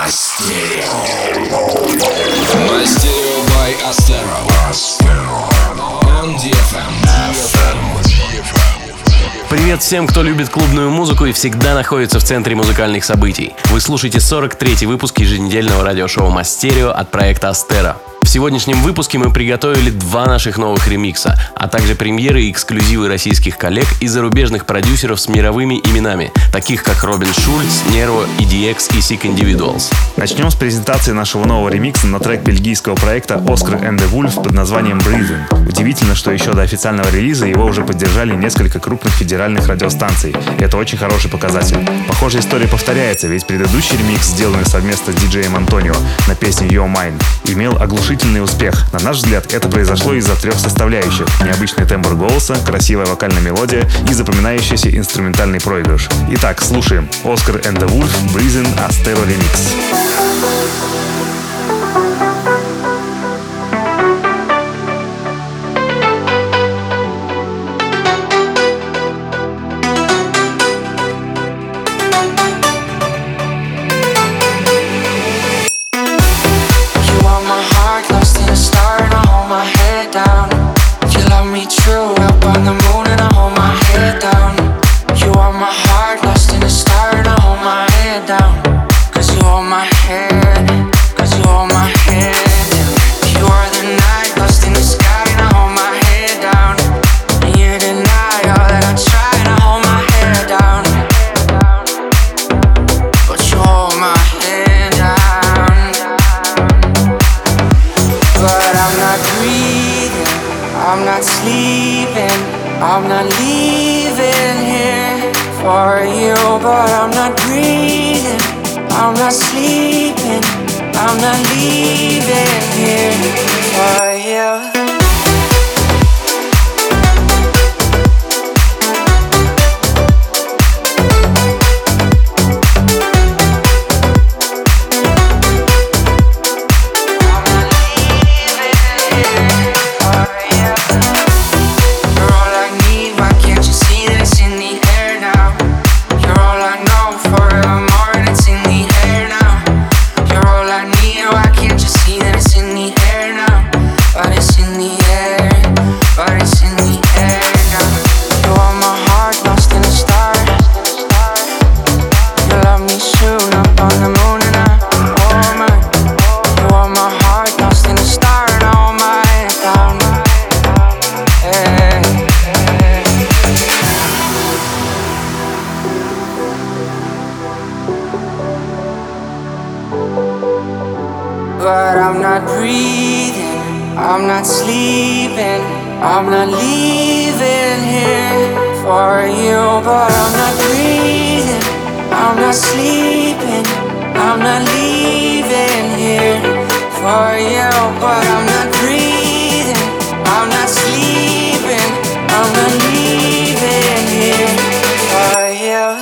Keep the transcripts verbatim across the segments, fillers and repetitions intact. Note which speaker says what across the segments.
Speaker 1: Мастерио by Astero on ди эф эм.
Speaker 2: Привет всем, кто любит клубную музыку и всегда находится в центре музыкальных событий. Вы слушаете сорок третий выпуск еженедельного радиошоу Мастерио от проекта Astero. В сегодняшнем выпуске мы приготовили два наших новых ремикса, а также премьеры и эксклюзивы российских коллег и зарубежных продюсеров с мировыми именами, таких как Робин Шульц, Нерво, и ди экс и Sick Individuals.
Speaker 3: Начнем с презентации нашего нового ремикса на трек бельгийского проекта Oscar and the Wolf под названием Breathing. Удивительно, что еще до официального релиза его уже поддержали несколько крупных федеральных радиостанций. И это очень хороший показатель. Похожая история повторяется, ведь предыдущий ремикс, сделанный совместно с диджеем Антонио на песню You're Mine, имел оглушительный успех. На наш взгляд, это произошло из-за трех составляющих: необычный тембр голоса, красивая вокальная мелодия и запоминающийся инструментальный проигрыш. Итак, слушаем Oscar and the Wolf, Breathing, Astero Remix.
Speaker 4: But I'm not breathing, I'm not sleeping, I'm not leaving here for you. But I'm not breathing, I'm not sleeping, I'm not leaving here for you. But I'm not breathing, I'm not sleeping, I'm not leaving here for you.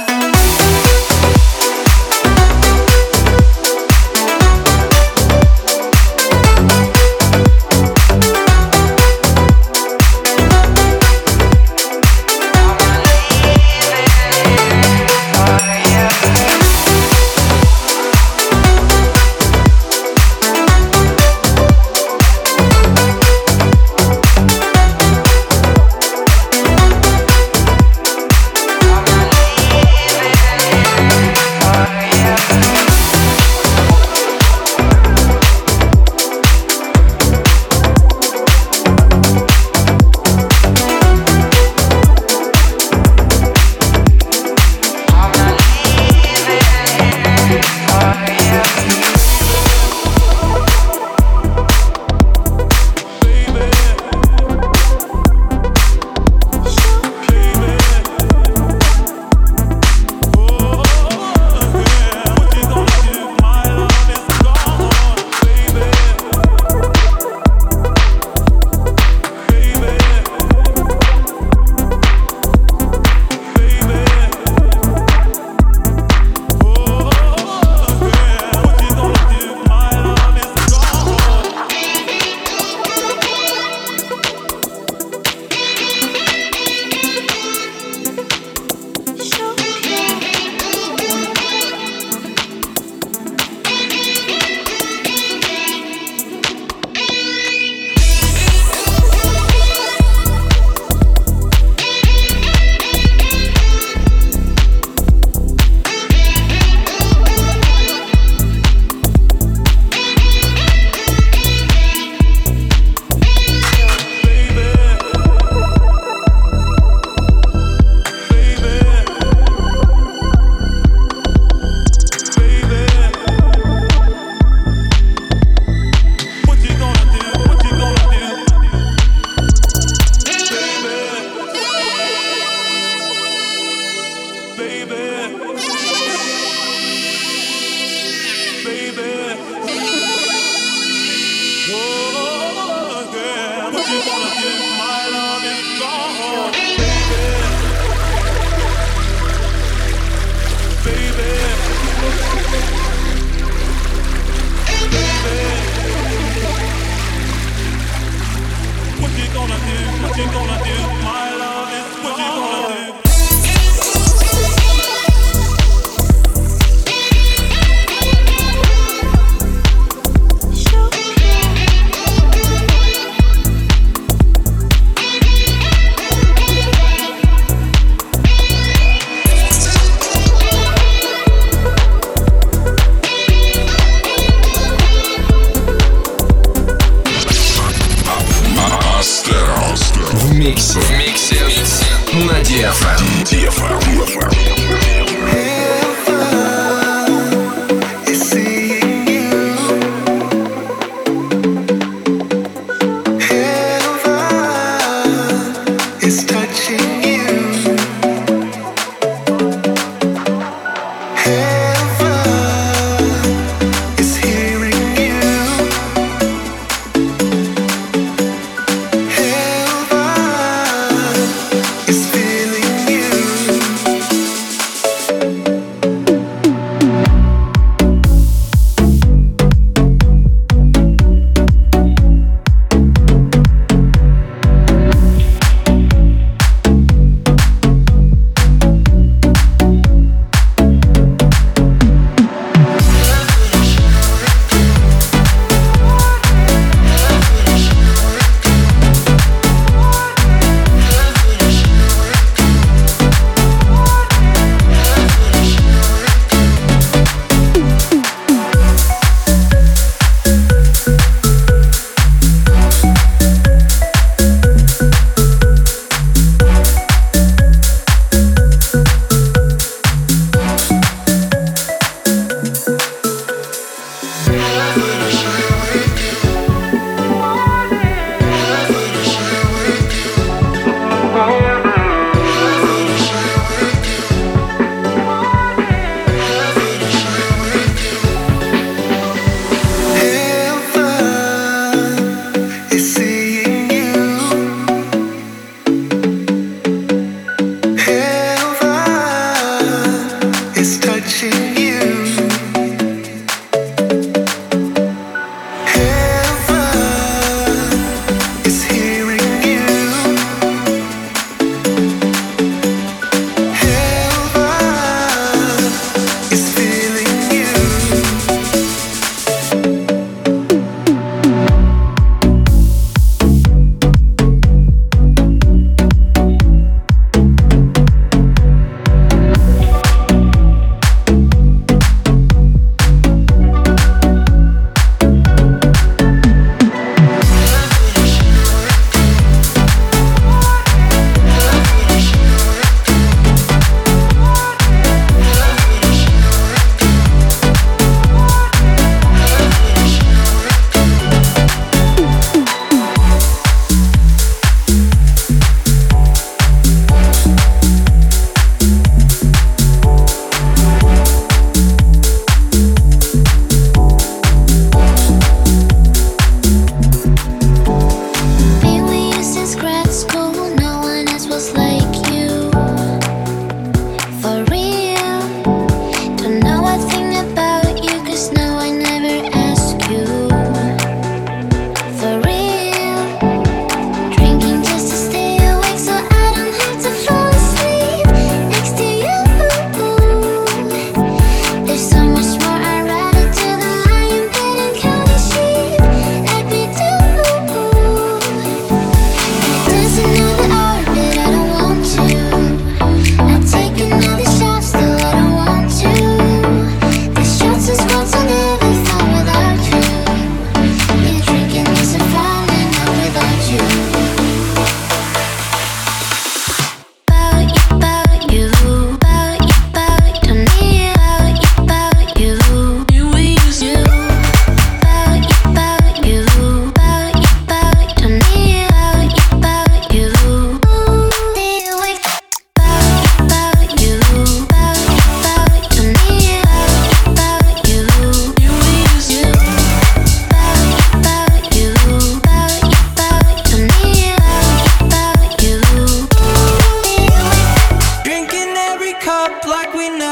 Speaker 1: В миксе. В миксе. На ди эф эм. ди эф эм.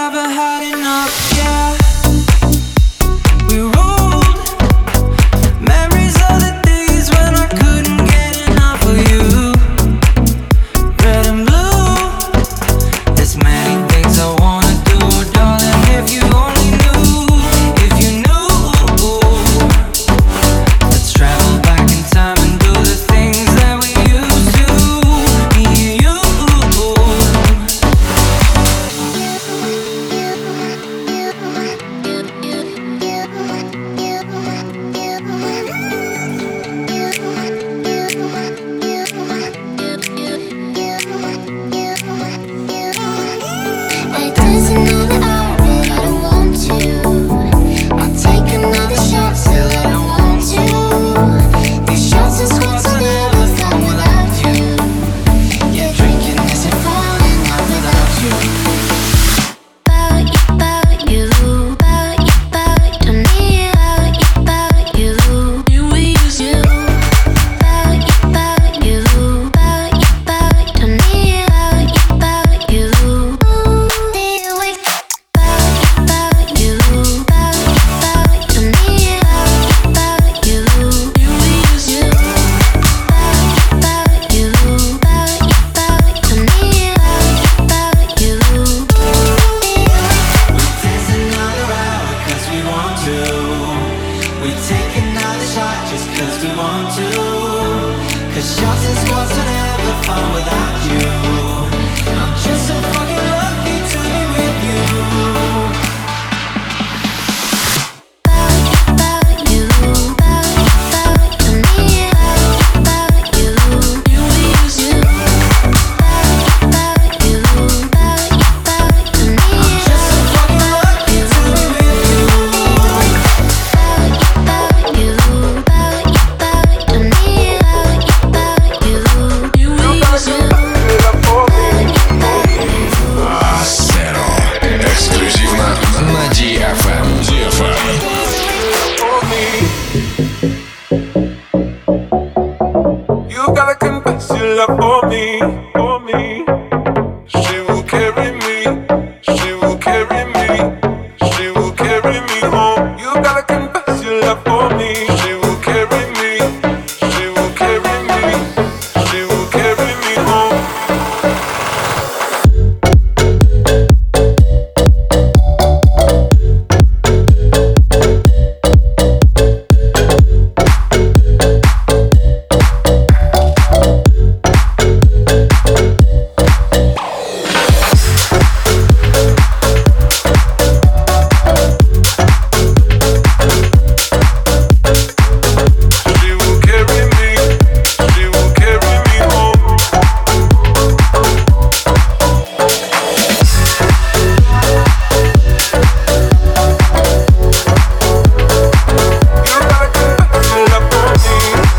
Speaker 4: never had enough, yeah. We rolled memories of the days when I couldn't get enough of you. Red and blue, there's many things I wanna do, darling. If you only knew, if you knew, let's travel back in time and do the things that we used to. Me and you.
Speaker 5: I dance another hour, but I don't want to. I'll take another shot, still I don't want to. These shots and squats are never fun without you. Yeah, drinking isn't fun enough without you. About you, about you, about you, about you, me, about you, about you, you, we used to. About you, about you, about you, about you, me, about you, about you. Shots and squats are never fun without you. I'm just so fucking lucky to be with you. About you, about you, about you, me, about you, you, we used to. About you, about you, about you, me, I'm just so fucking lucky to be with you. About you, about you, about you, me,
Speaker 1: Астеро. Эксклюзивно на ди эф эм. ди эф эм.
Speaker 6: You gotta confess your love for me, for me. She will carry me, she will carry me, she will carry me home. You gotta confess your love for me. She will carry me, she will carry me, she will carry me home. She will carry me, she will carry me home. You gotta confess your love for me.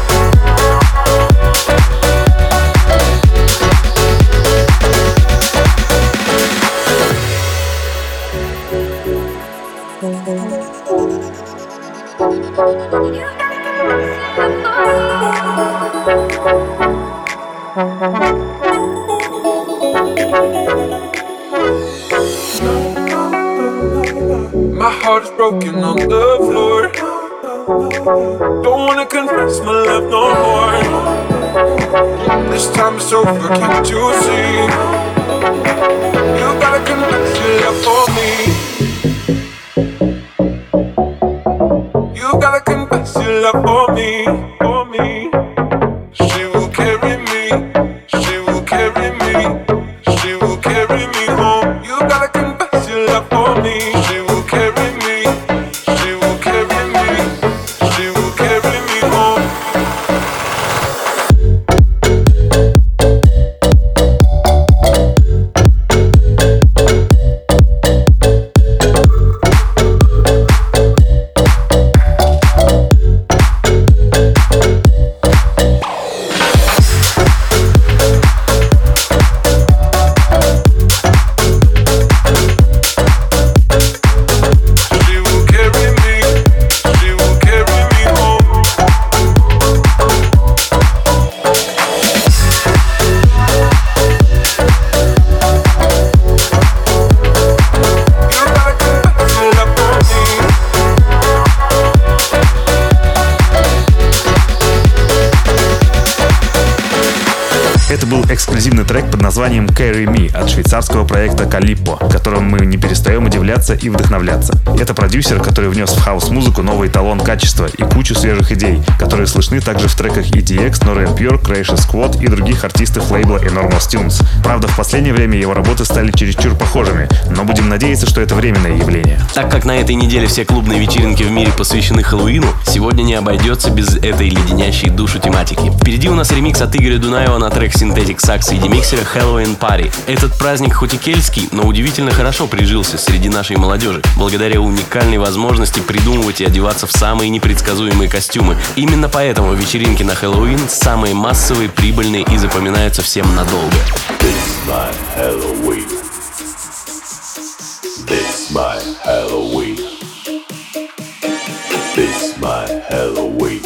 Speaker 6: My heart is broken on the floor. Don't wanna confess my love no more. This time it's over, can't you see? You gotta confess your love for me. You gotta confess your love for me, for me. She will carry me, she will carry me, she will carry me home. You gotta confess your love for me. She will carry me, she will carry me, she will carry me home.
Speaker 3: был эксклюзивный трек под названием Carry Me от швейцарского проекта Calippo, которым мы не перестаем удивляться и вдохновляться. Это продюсер, который внес в хаус-музыку новый эталон качества и кучу свежих идей, которые слышны также в треках и ди экс, Nora En Pure, Croatia Squad и других артистов лейбла Enormous Tunes. Правда, в последнее время его работы стали чересчур похожими, но будем надеяться, что это временное явление.
Speaker 2: Так как на этой неделе все клубные вечеринки в мире посвящены Хэллоуину, сегодня не обойдется без этой леденящей душу тематики. Впереди у нас ремикс от Игоря Дунаева на трек Synthetic Sax и демиксера Halloween Party. Этот праздник хоть и кельтский, но удивительно хорошо прижился среди нашей молодежи, благодаря уникальной возможности придумывать и одеваться в самые непредсказуемые костюмы. Именно поэтому вечеринки на Хэллоуин самые массовые, прибыльные и запоминаются всем надолго.
Speaker 7: This my Halloween. This my Halloween. This my Halloween.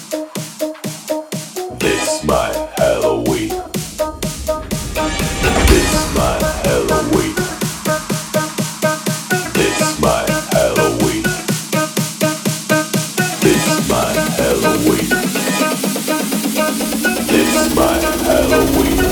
Speaker 7: This my Halloween. This my Halloween. This my Halloween. This my Halloween. This my Halloween.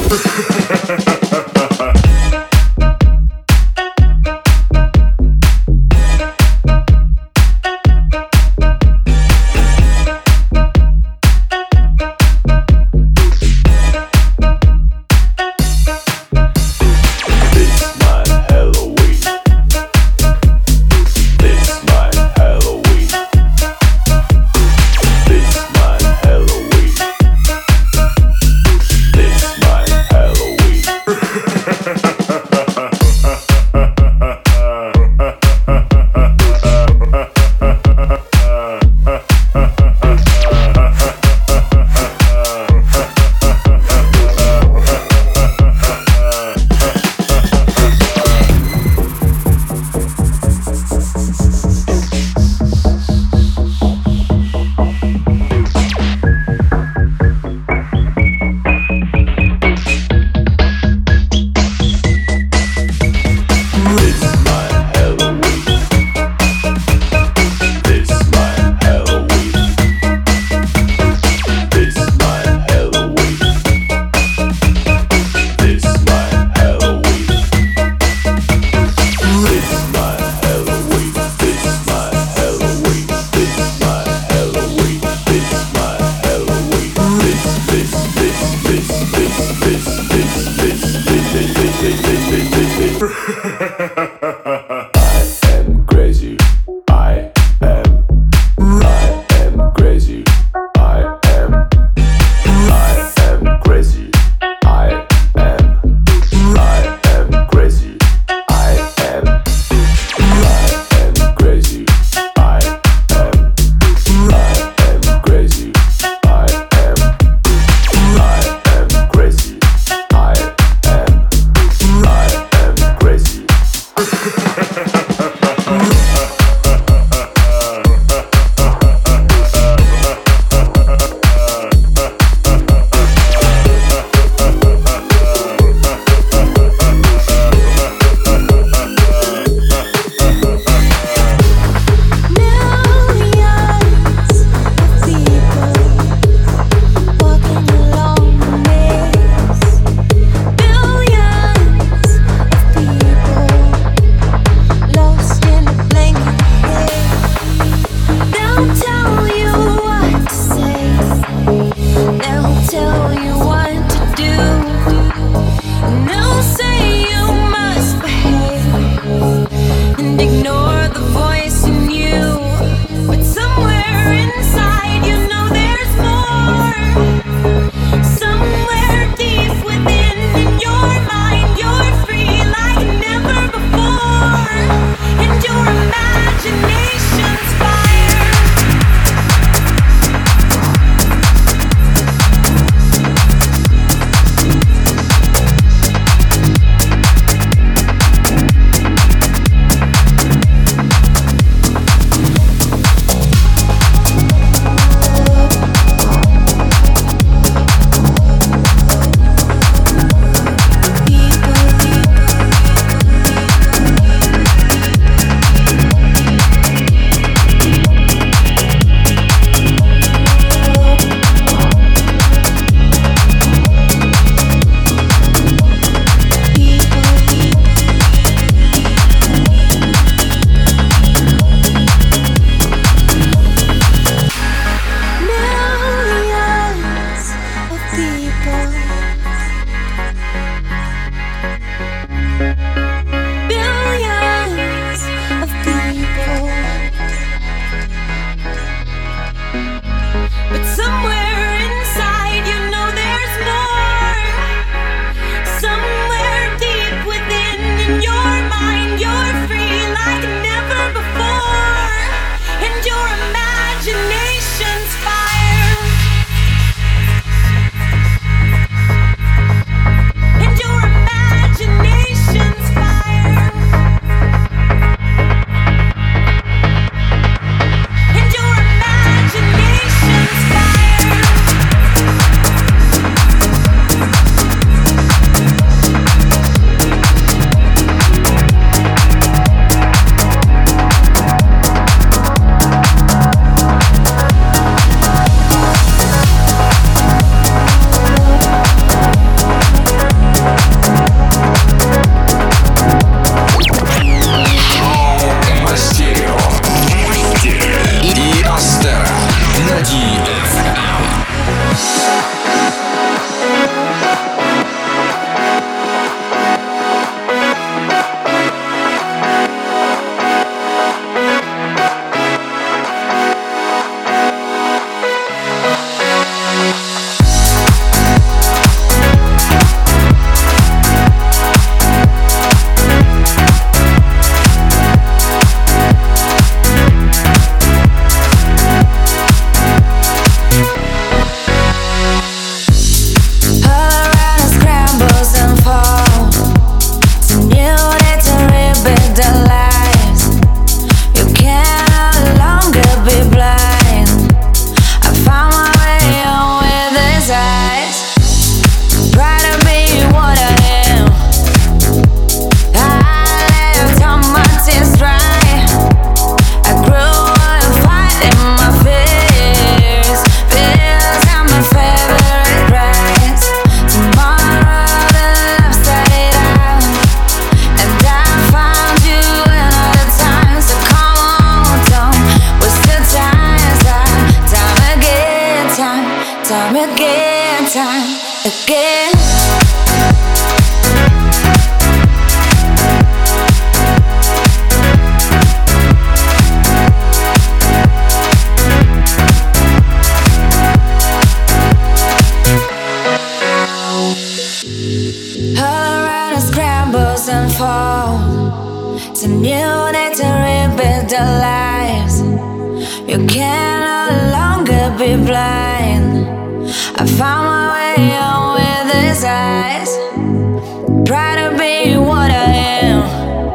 Speaker 5: you need to rebuild the lives. You can no longer be blind. I found my way on with his eyes. Try to be what I am.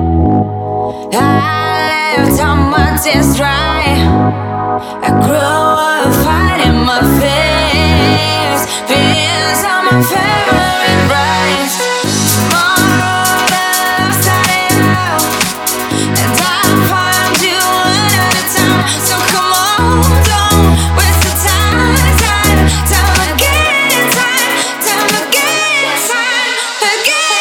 Speaker 5: I left all my tears dry. I grew up fighting my fears. Fears are my favorite rights. Tomorrow the love started out, and I'll find you another time. So come on, don't waste the time. Time, time again, time, time again, time again.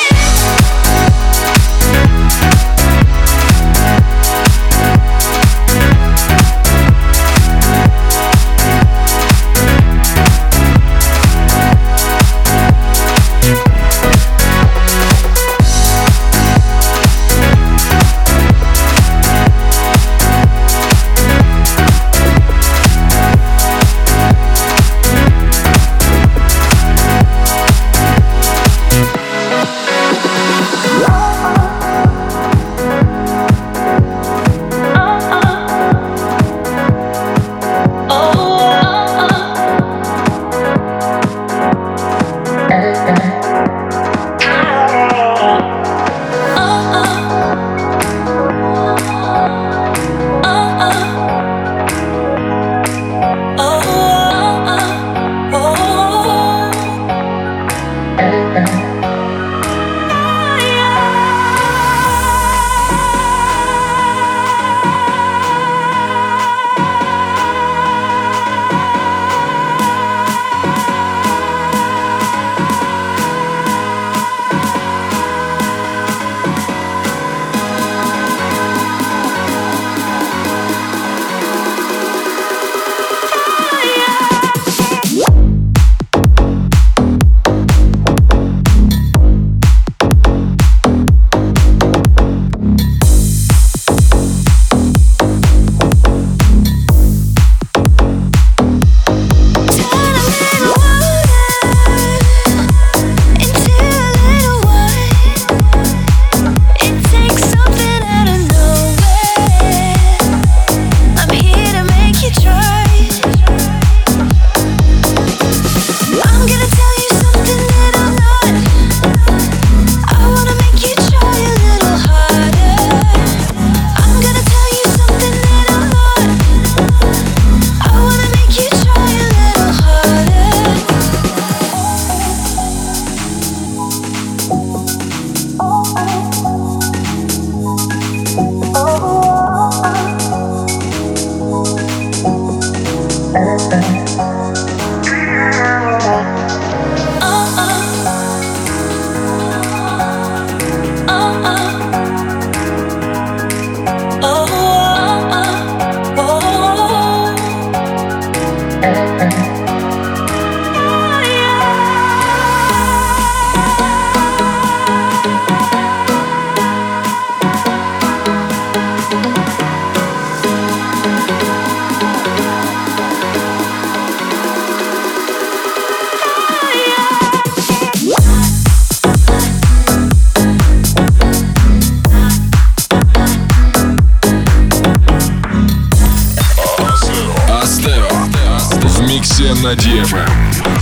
Speaker 1: на ди эф эм.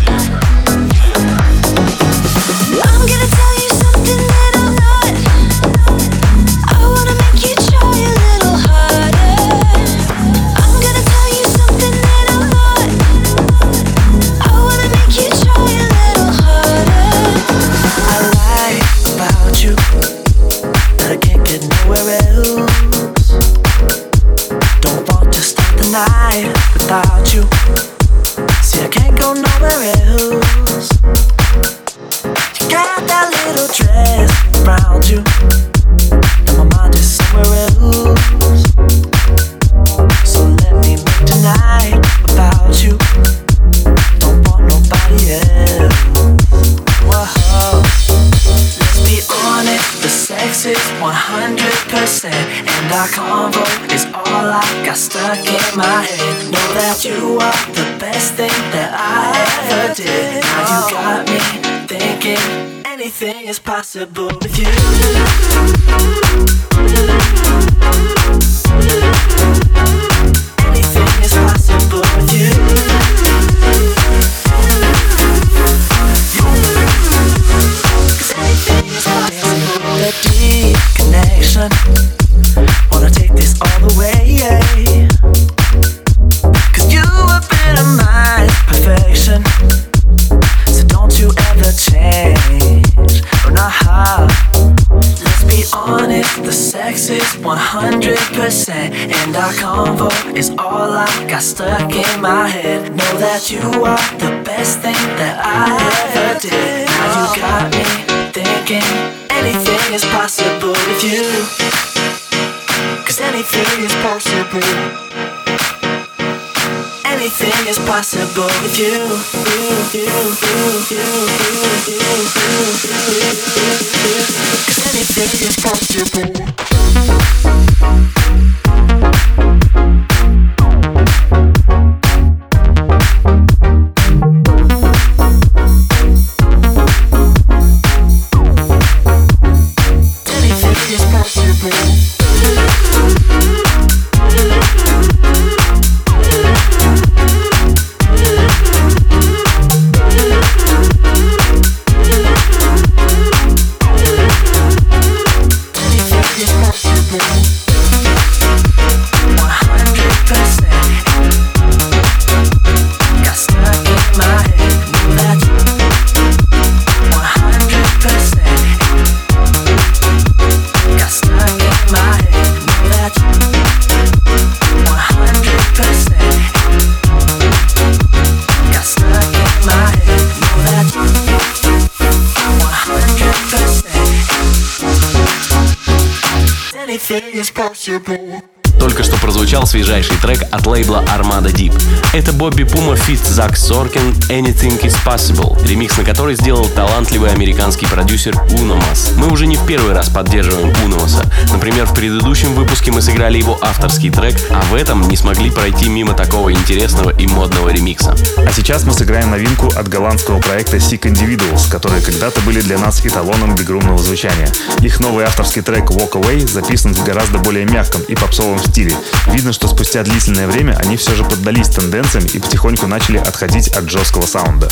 Speaker 8: Without you, see I can't go nowhere else. You got that little dress around you, and my mind is somewhere else. So let me make tonight without you. Don't want nobody else. Whoa, let's be honest, the sex is one hundred percent, and our convo is all I got stuck in my head. Know that you are the best thing that I ever did. Now you got me thinking anything is possible with you. Anything is possible with you. Cause anything is possible. That deep connection, wanna take this all the way, yeah. Cause you epitomize perfection, so don't you ever change, or not how. Let's be honest, the sex is one hundred percent, and our convo is all I got stuck in my head. Know that you are the best thing that I ever did. Now you got me thinking anything is possible with you. Cause anything is possible. Anything is possible with you. Cause anything is possible.
Speaker 2: Только что прозвучал свежайший трек от лейбла Armada Deep. Это Бобби Пума feat. Зак Соркин «Anything is Possible», ремикс на который сделал талантливый американский продюсер Уномас. Мы уже не в первый раз поддерживаем Уномаса. Например, в предыдущем выпуске мы сыграли его авторский трек, а в этом не смогли пройти мимо такого интересного и модного ремикса.
Speaker 3: А сейчас мы сыграем новинку от голландского проекта Sick Individuals, которые когда-то были для нас эталоном бигрумного звучания. Их новый авторский трек Walk Away записан в гораздо более мягком и попсовом стиле. Видно, что спустя длительное время они все же поддались тенденциям и потихоньку начали отходить от жесткого саунда.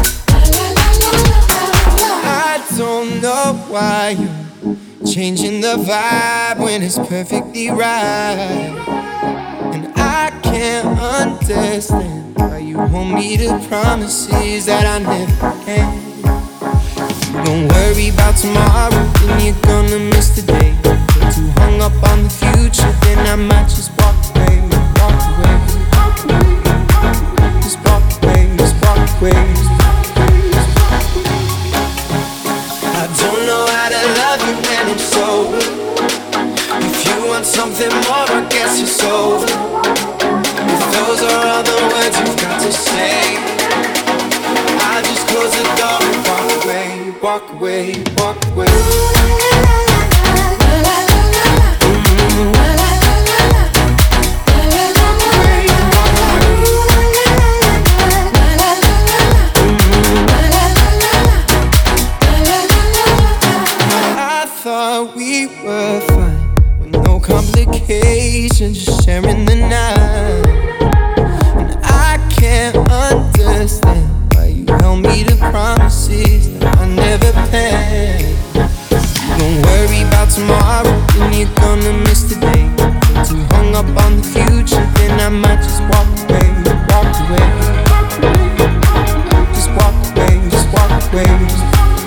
Speaker 9: I don't know why you're changing the vibe when it's perfectly right. And I can't understand why you hold me to promises that I never can. Don't worry about tomorrow, then you're gonna miss the day. Get too hung up on the future, then I might just walk away, walk away, just walk away, just walk away. I don't know how to love you when I'm sober. If you want something more, I guess you're sober. If those are all the words you've got to say, I'll just close the door and walk away, walk away, walk away. We were fine with no complications, just sharing the night. And I can't understand why you held me to promises that I never paid. Don't worry about tomorrow, then you're gonna miss the day. Get too hung up on the future, then I might just walk away, walk away. Just walk away, just walk away, just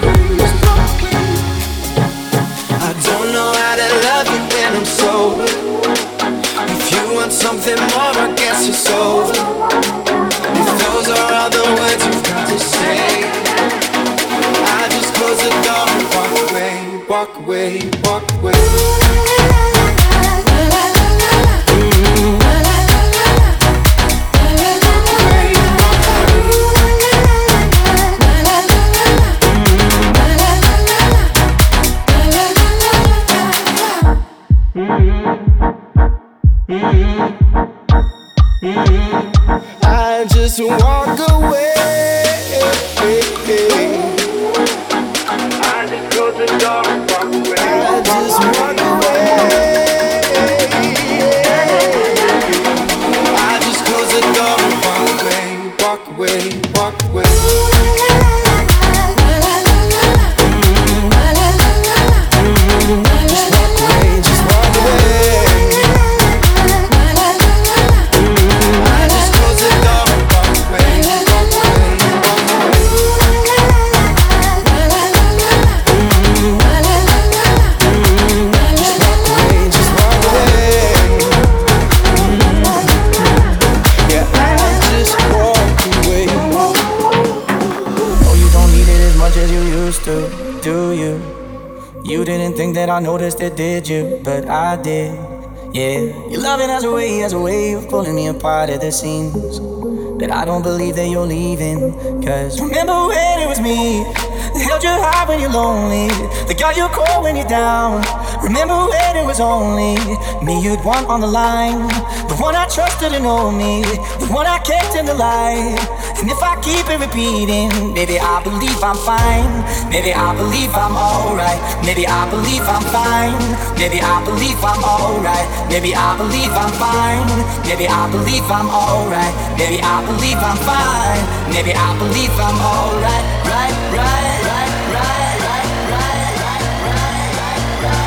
Speaker 9: I'm sober. If you want something more, I guess you're sober. If those are all the words you've got to say, I just close the door and walk away, walk away, walk away. I just walk away. I
Speaker 8: I noticed it, did you? But I did, yeah. Your loving has a way, has a way of pulling me apart at the seams. That I don't believe that you're leaving. Cause remember when it was me that held you high when you're lonely, that got you cold when you're down. Remember when it was only me you'd want on the line, the one I trusted to know me, the one I kept in the light. And if I keep it repeating, maybe I believe I'm fine. Maybe I believe I'm alright. Maybe I believe I'm fine. Maybe I believe I'm alright. Maybe I believe I'm fine. Maybe I believe I'm alright. Maybe I believe I'm fine. Maybe I believe I'm alright. Right, right, right, right, right, right, right, right, right.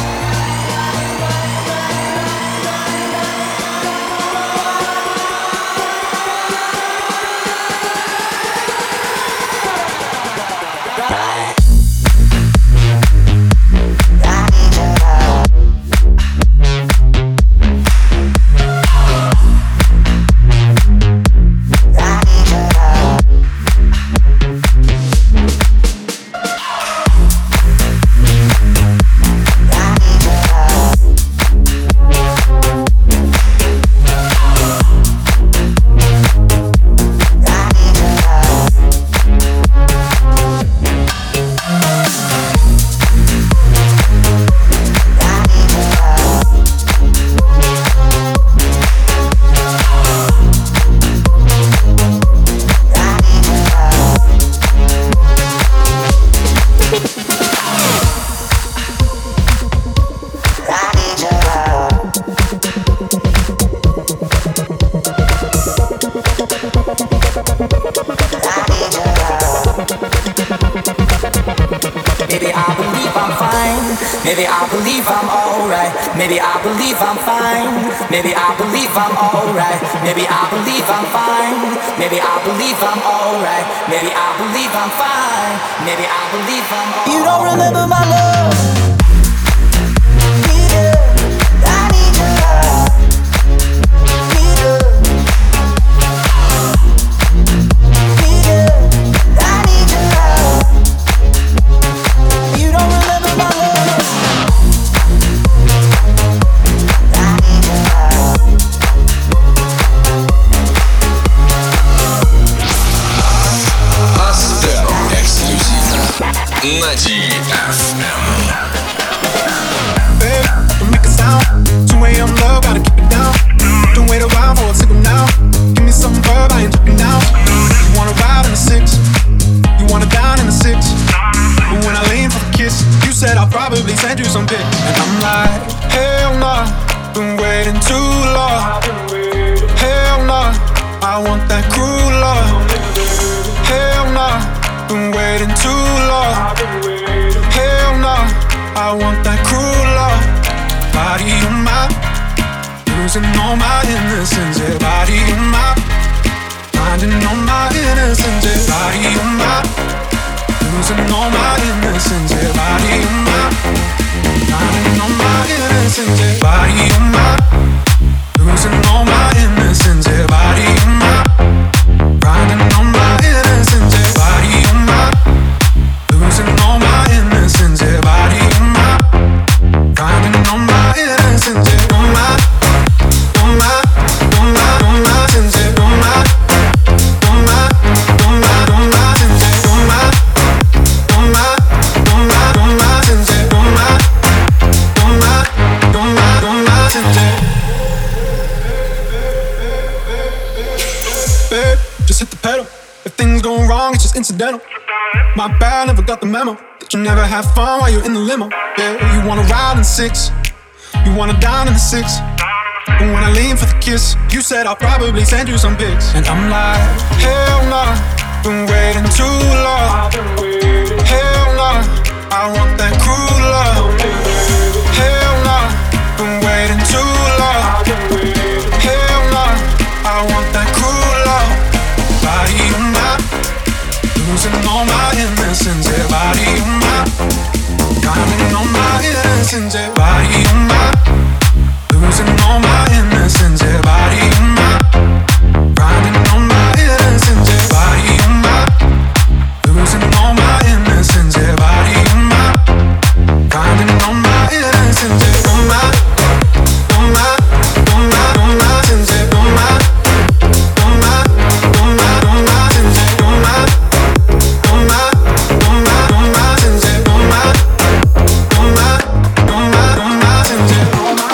Speaker 8: Maybe I believe I'm alright. Maybe I believe I'm fine. Maybe I believe I'm alright. Maybe I believe I'm fine. Maybe I believe I'm alright. Maybe I believe I'm fine. Maybe I believe I'm alright. You don't remember my love.
Speaker 1: на ди эф эм.
Speaker 10: Babe, don't make a sound. two a.m. love, gotta keep it down. Don't wait around for a signal now. Give me some verb, I ain't joking now. You wanna ride in the six, you wanna dine in the six. But when I lean for the kiss, you said I'll probably send you some pic. And I'm like, hell nah, been waiting too long. Hell nah, I want that cruel love. Hell nah, been waiting too long. Hell nah, I want that cruel love. Body on my, losing all my innocence. Yeah, body on my, finding all my innocence. Yeah, body on my, losing all my innocence. Yeah, body on my, finding all my innocence. Yeah, body on my, losing all my innocence. Yeah, body on my, finding all my innocence. Yeah, body on my, losing all my innocence. Yeah, body on my, finding all my innocence. Yeah, on my, on my, on my, on my sins. Yeah, on my, on my, on my, on my sins. Yeah, on my, on my, on my, on my sins. Yeah, on my, on my, on my, on my sins. Yeah. Babe, just hit the pedal. If things go wrong, it's just incidental. My bad, never got the memo. But you never have fun while you're in the limo. Yeah, you wanna ride in six, you wanna dine in the six. And when I lean for the kiss, you said I'll probably send you some pics. And I'm like, hell nah, been waiting too long. Hell nah, I want that cruel love. Hell nah, been waiting too long. Hell nah, I want that cruel love. Body on my, losing all my innocence. Yeah, body on my, counting on my innocence. Yeah, body on my, losing all my innocence. Yeah, body on my, grinding on my innocence. Yeah, body on my, losing all my innocence. Yeah, body on my, grinding on my innocence. Yeah, on my, on my, on my, on my innocence. Yeah, on my, on my, on my, on my innocence. Yeah, on my, on my, on my, on my innocence. Yeah, on my, on my, on my, on my innocence. Yeah.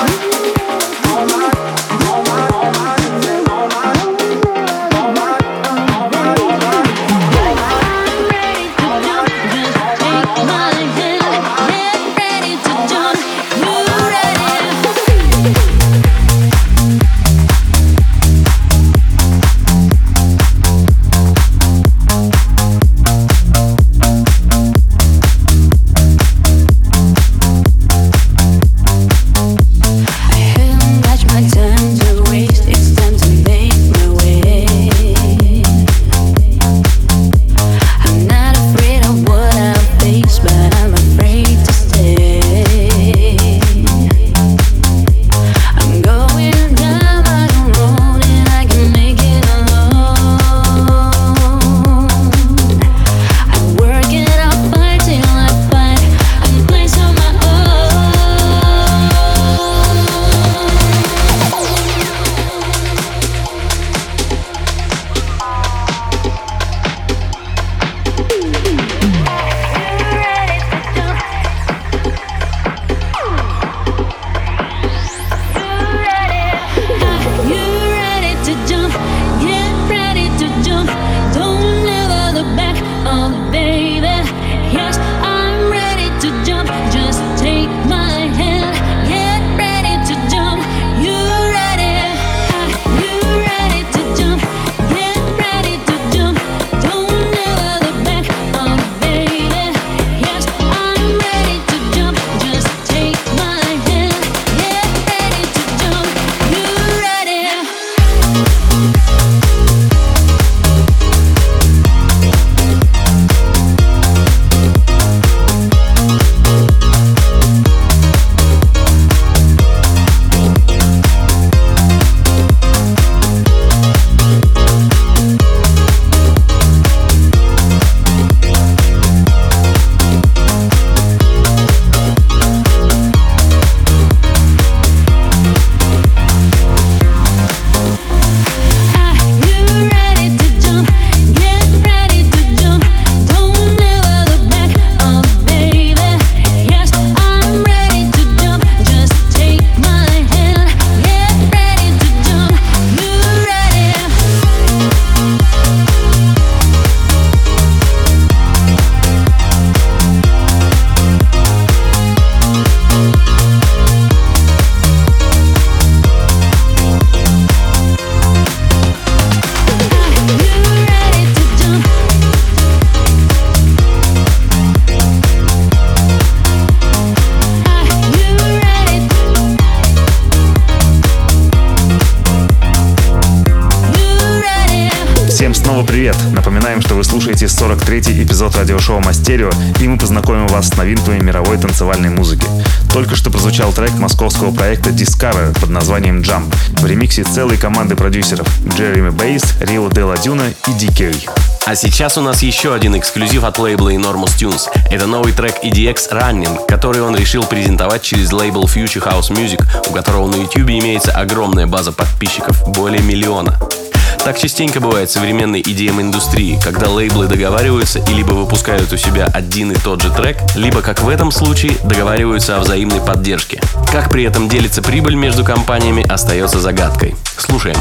Speaker 3: Снова привет! Напоминаем, что вы слушаете сорок третий эпизод радиошоу Мастерио, и мы познакомим вас с новинками мировой танцевальной музыки. Только что прозвучал трек московского проекта Discover под названием Jump в ремиксе целой команды продюсеров Джереми Бейс, Рио де ла Дюна и ди кей.
Speaker 2: А сейчас у нас еще один эксклюзив от лейбла Enormous Tunes. Это новый трек и ди экс Running, который он решил презентовать через лейбл Future House Music, у которого на YouTube имеется огромная база подписчиков, более миллиона. Так частенько бывает в современной и ди эм-индустрии, когда лейблы договариваются и либо выпускают у себя один и тот же трек, либо, как в этом случае, договариваются о взаимной поддержке. Как при этом делится прибыль между компаниями, остается загадкой. Слушаем.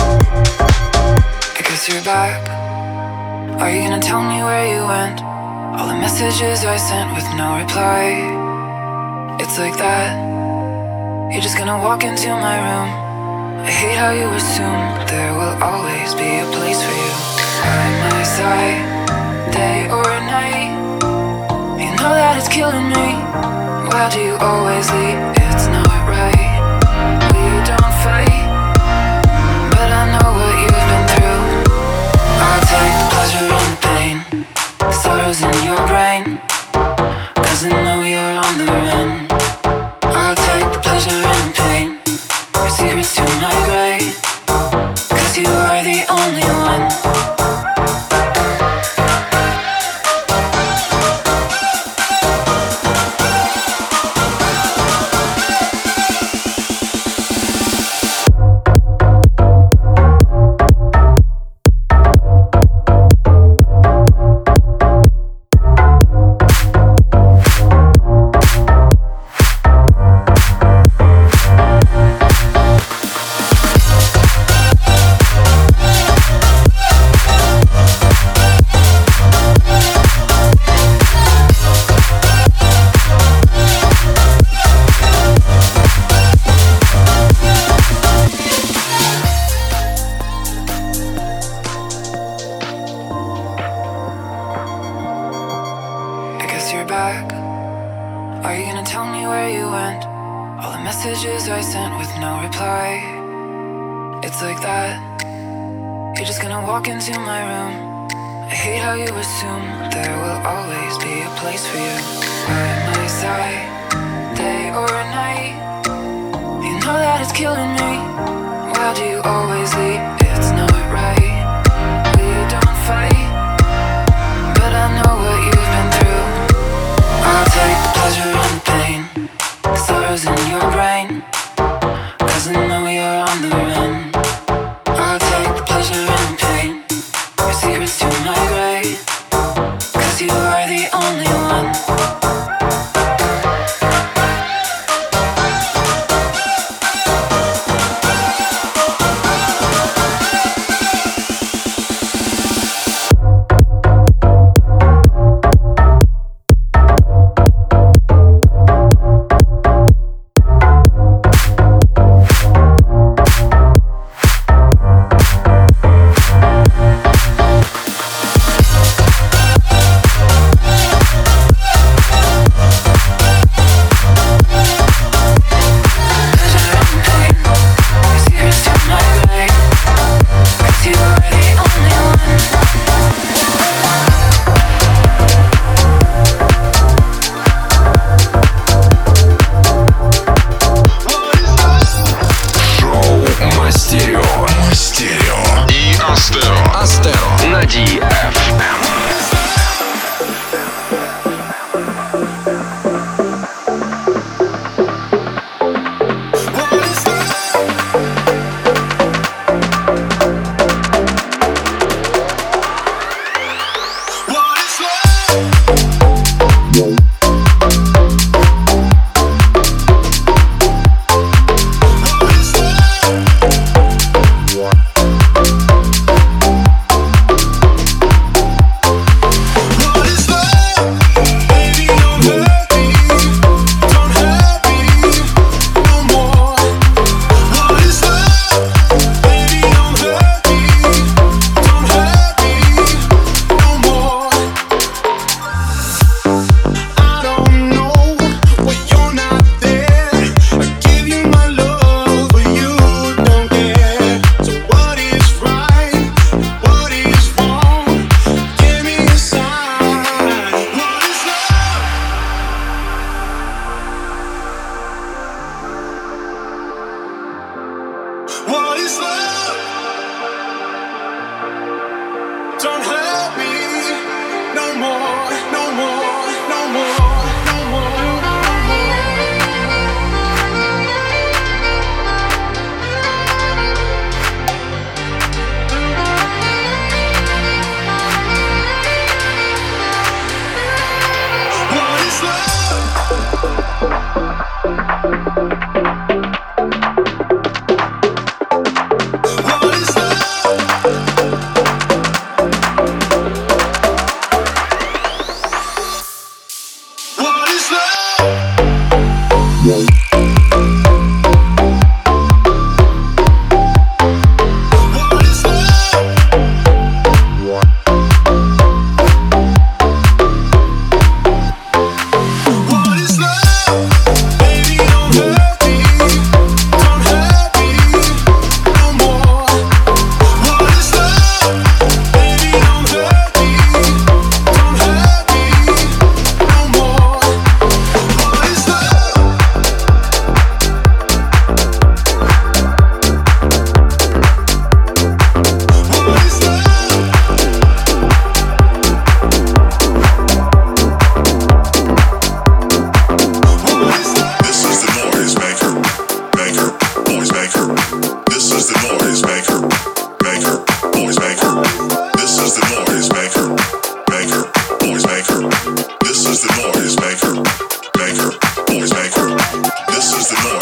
Speaker 11: You're back. Are you gonna tell me where you went? All the messages I sent with no reply. It's like that. You're just gonna walk into my room. I hate how you assume there will always be a place for you by my side, day or night. You know that it's killing me. Why do you always leave? It's not right. We don't fight, but I know what you've been through. I'll take the pleasure and the pain, the sorrows in your brain, 'cause I know you're on the run. I'll take the pleasure and the pain, your secrets to my grave, 'cause you are the only one.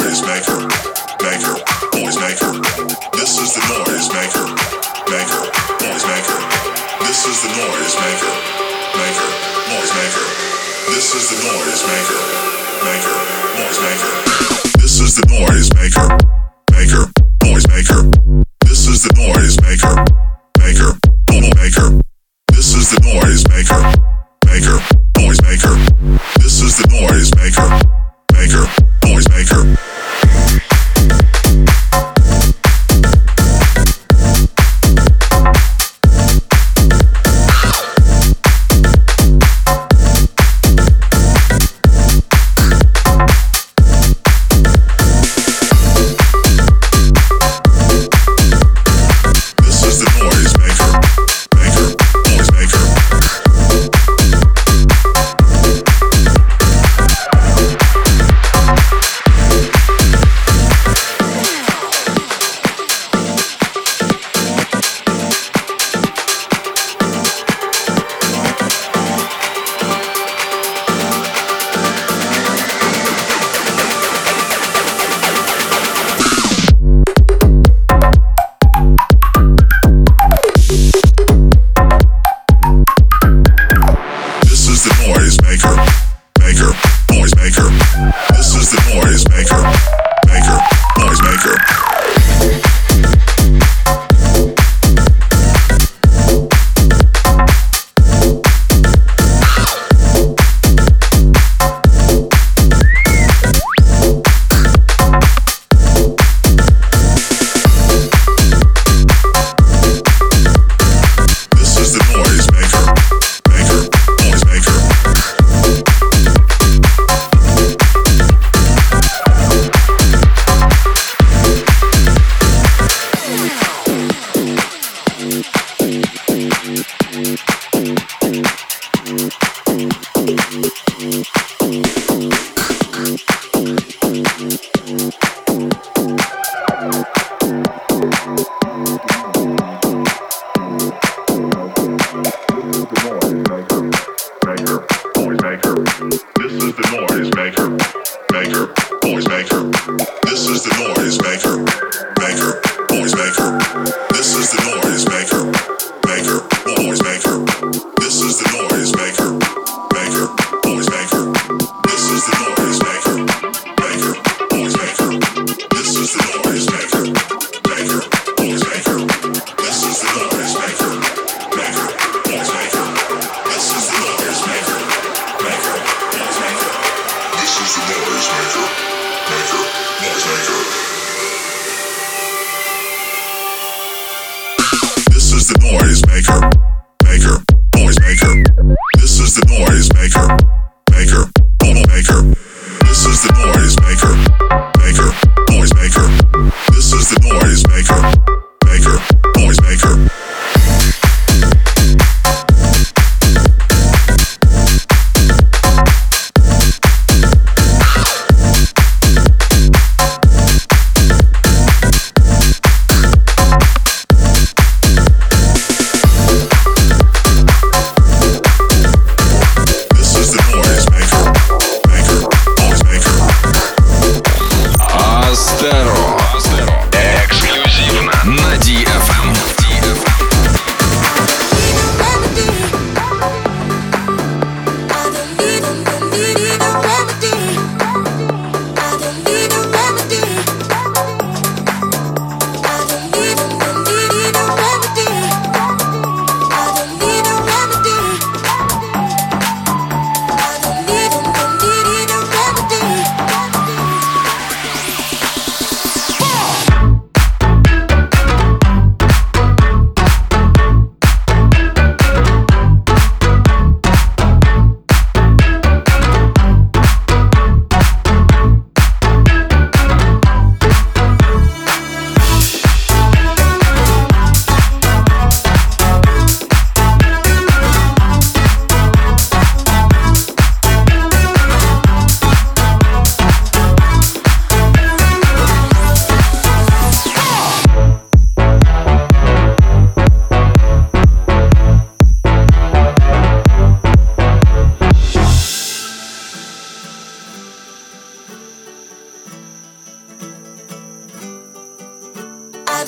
Speaker 12: noise maker, maker, noise maker. This is the noise maker, maker, noise maker. This is the noise maker, maker, noise maker. This is the noise maker, maker, noise maker. This is the noise maker, maker, noise maker. This is the noise maker, maker, noise maker. This is the noise maker, maker, noise maker. This is the noise maker, maker, noise maker.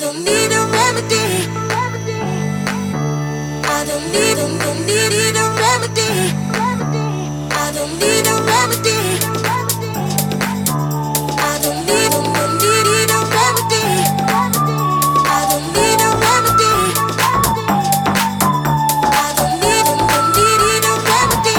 Speaker 5: don't need a remedy. I don't need a, don't need, need a remedy. I don't need a remedy. I don't need a, don't need, need a remedy. I don't need a remedy. I don't need a, don't need, need a remedy.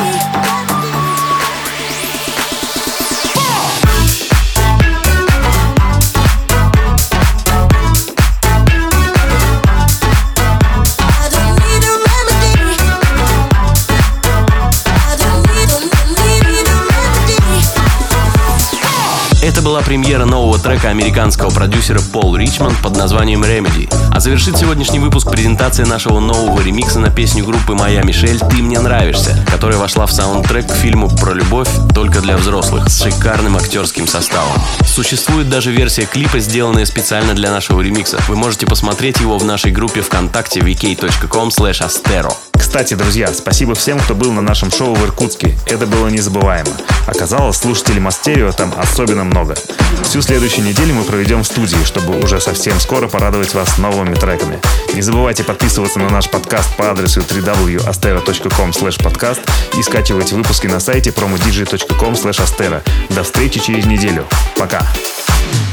Speaker 2: Это была премьера нового трека американского продюсера Пол Ричмонд под названием Remedy. А завершит сегодняшний выпуск презентация нашего нового ремикса на песню группы «Моя Мишель» «Ты мне нравишься», которая вошла в саундтрек к фильму про любовь только для взрослых с шикарным актерским составом. Существует даже версия клипа, сделанная специально для нашего ремикса. Вы можете посмотреть его в нашей группе ВКонтакте ви кей точка ком слэш астеро.
Speaker 3: Кстати, друзья, спасибо всем, кто был на нашем шоу в Иркутске. Это было незабываемо. Оказалось, слушателей Мастерио там особенно много. Всю следующую неделю мы проведем в студии, чтобы уже совсем скоро порадовать вас новыми треками. Не забывайте подписываться на наш подкаст по адресу дабл ю дабл ю дабл ю точка астера точка ком слэш подкаст и скачивайте выпуски на сайте промо диджей точка ком слэш астера. До встречи через неделю. Пока!